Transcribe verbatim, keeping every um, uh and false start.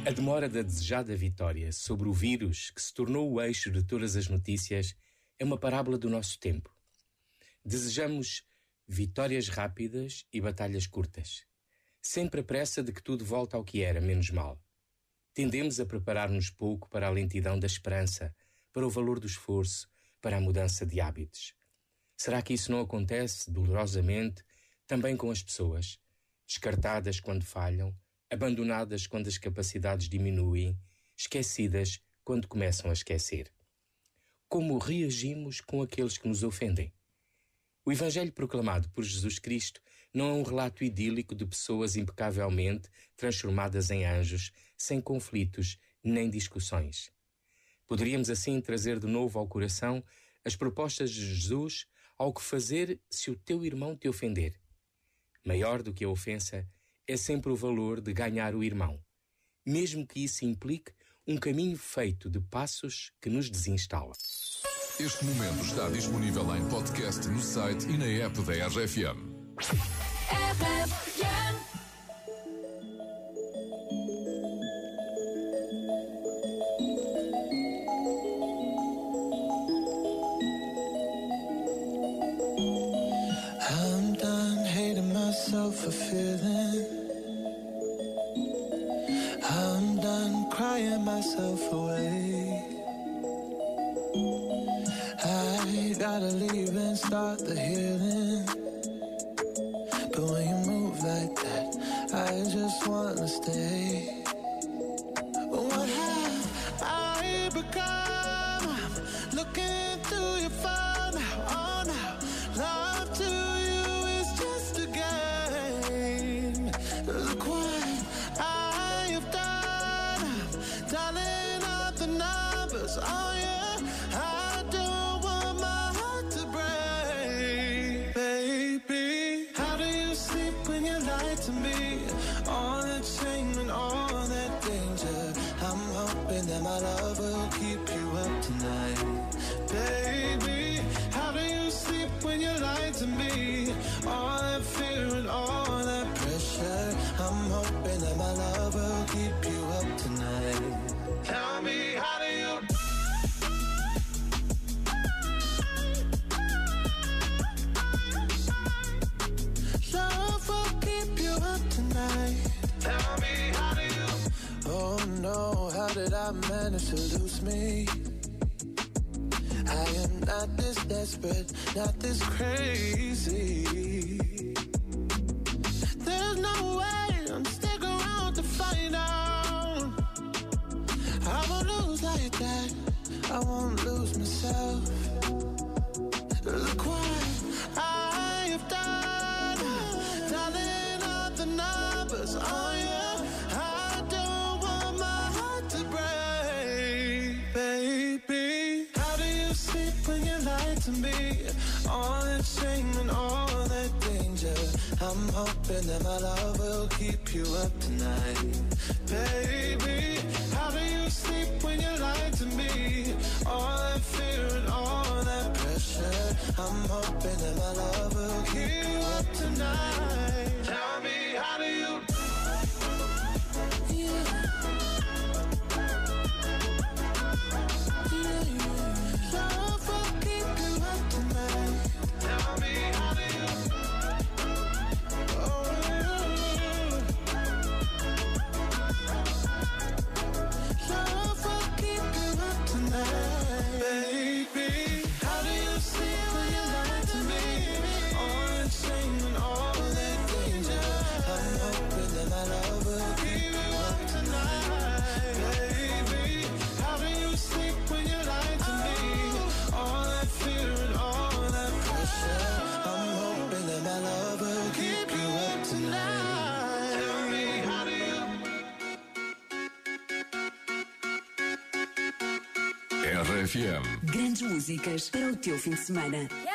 A demora da desejada vitória sobre o vírus, que se tornou o eixo de todas as notícias, é uma parábola do nosso tempo. Desejamos vitórias rápidas e batalhas curtas, sempre a pressa de que tudo volta ao que era, menos mal. Tendemos a preparar-nos pouco para a lentidão da esperança, para o valor do esforço, para a mudança de hábitos. Será que isso não acontece dolorosamente também com as pessoas, descartadas quando falham, abandonadas quando as capacidades diminuem, esquecidas quando começam a esquecer? Como reagimos com aqueles que nos ofendem? O Evangelho proclamado por Jesus Cristo não é um relato idílico de pessoas impecavelmente transformadas em anjos, sem conflitos nem discussões. Poderíamos assim trazer de novo ao coração as propostas de Jesus ao que fazer se o teu irmão te ofender. Maior do que a ofensa é sempre o valor de ganhar o irmão, mesmo que isso implique um caminho feito de passos que nos desinstala. Este momento está disponível em podcast no site e na app da R F M. R F M. I'm done hating myself for feeling. I'm done crying myself away. I gotta leave and start the healing. But when you move like that, I just wanna stay. What have I become? I'm looking through your phone now, oh now. Love to you is just a game. Look what I have done. I'm dialing up the numbers, oh yeah. I don't want my heart to break. Baby, how do you sleep when you lie to me? All that shame and all that danger. I'm hoping that my love will keep you up tonight. Baby, how do you sleep when you lie to me? All that fear and all that pressure. I'm hoping that my love will keep you up tonight. Tell me, how do you... Love will keep you up tonight. Tell me, how do you... Oh no, how did I manage to lose me? I am not this desperate, not this crazy. There's no way I'm sticking around to find out. I won't lose like that, I won't lose myself. Look what I have done, dialing up the numbers, oh yeah. I don't want my heart to break, baby. How do you sleep when you lie to me? All that shame and all that danger. I'm hoping that my love will keep you up tonight. Baby, how do you sleep when you lie to me? All that fear and all that pressure. I'm hoping that my love will keep you up tonight. Tell me, how do you... R F M. Grandes músicas para o teu fim de semana.